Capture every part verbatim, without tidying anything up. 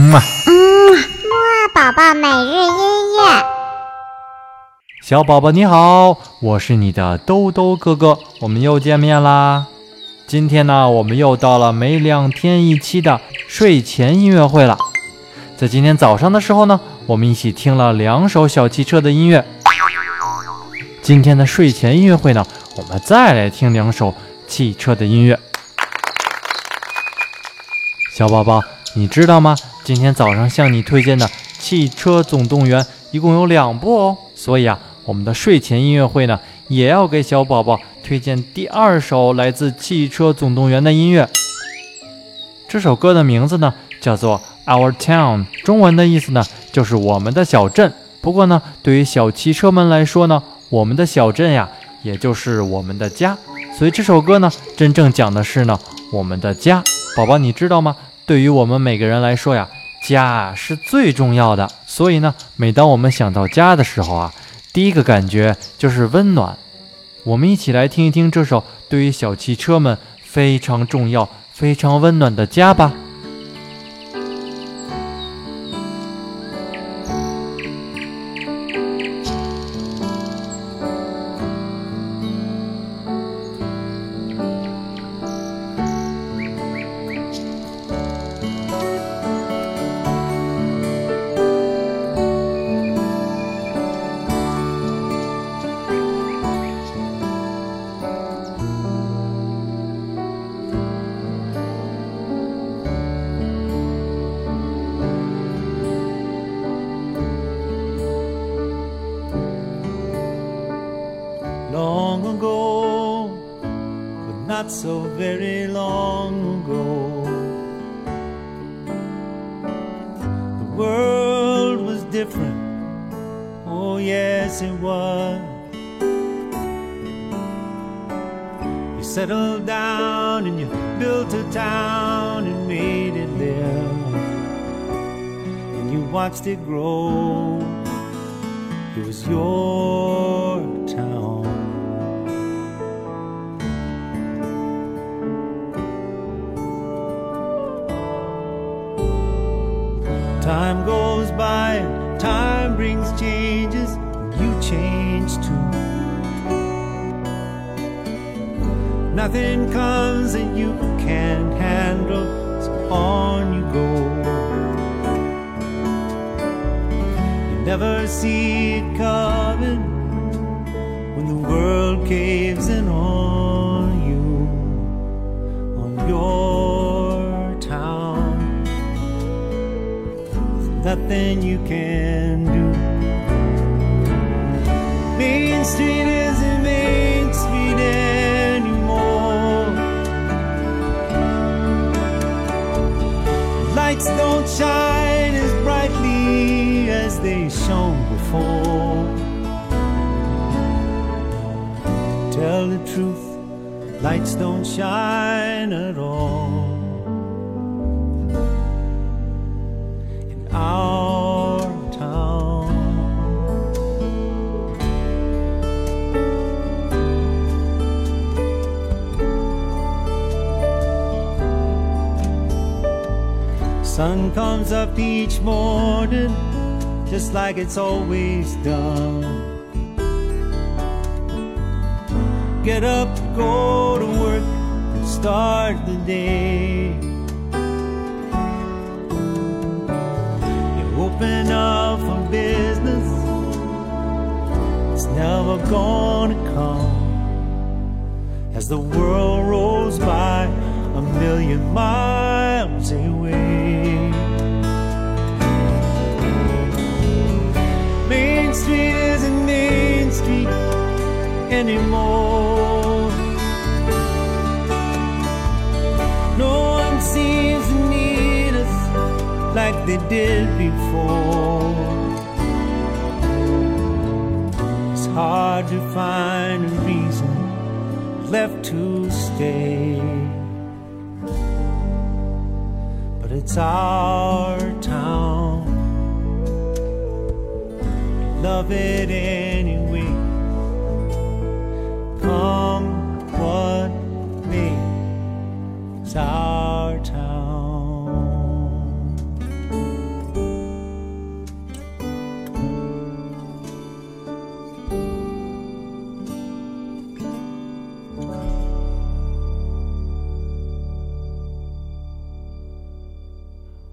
嗯啊嗯，木二宝宝每日音乐。 小宝宝你好，我是你的兜兜哥哥，我们又见面啦。今天呢，我们又到了每两天一期的睡前音乐会了。在今天早上的时候呢，我们一起听了两首小汽车的音乐。今天的睡前音乐会呢，我们再来听两首汽车的音乐。小宝宝，你知道吗？今天早上向你推荐的《汽车总动员》一共有两部哦，所以啊，我们的睡前音乐会呢，也要给小宝宝推荐第二首来自《汽车总动员》的音乐。这首歌的名字呢，叫做 Our Town， 中文的意思呢，就是我们的小镇。不过呢，对于小汽车们来说呢，我们的小镇呀，也就是我们的家。所以这首歌呢，真正讲的是呢，我们的家。宝宝，你知道吗？对于我们每个人来说呀，家是最重要的。所以呢，每当我们想到家的时候啊，第一个感觉就是温暖。我们一起来听一听这首对于小汽车们非常重要、非常温暖的家吧。 Long ago, but not so very long ago, the world was different, oh yes it was. You settled down and you built a town and made it live, and you watched it grow. It was your town. Time goes by, time brings changes, you change too. Nothing comes that you can't handle, so on you go. You never see it coming when the world caves in on you, on your town. There's nothing you can do. Main Street isn't Main Street anymore. Lights don't shine as brightly as they shone before. Tell the truth, lights don't shine at all in our town. Sun comes up each morning just like it's always done. Get up, go to work, and start the day. You open up for business, it's never gonna come. As the world rolls by a million miles away. Main Street isn't Main Street anymore. No one seems to need us like they did before. It's hard to find a reason left to stay, but it's our town. We love it anyway. Come what may, it's our town.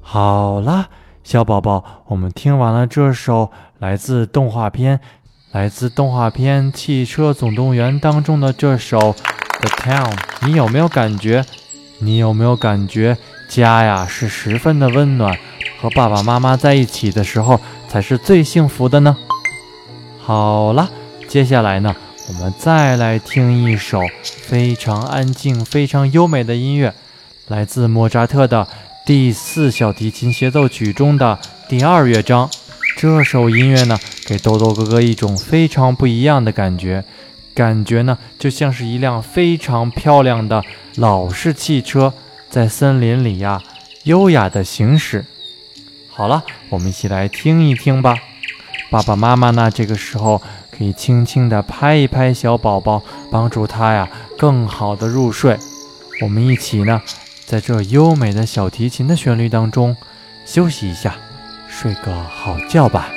好啦，小宝宝，我们听完了这首来自动画片来自动画片《汽车总动员》当中的这首 The Town， 你有没有感觉你有没有感觉家呀是十分的温暖，和爸爸妈妈在一起的时候才是最幸福的呢？好了，接下来呢，我们再来听一首非常安静非常优美的音乐，来自莫扎特的第四小提琴协奏曲中的第二乐章。这首音乐呢，给豆豆哥哥一种非常不一样的感觉，感觉呢就像是一辆非常漂亮的老式汽车在森林里呀优雅的行驶。好了，我们一起来听一听吧。爸爸妈妈呢，这个时候可以轻轻地拍一拍小宝宝，帮助他呀更好的入睡。我们一起呢，在这优美的小提琴的旋律当中休息一下，睡个好觉吧。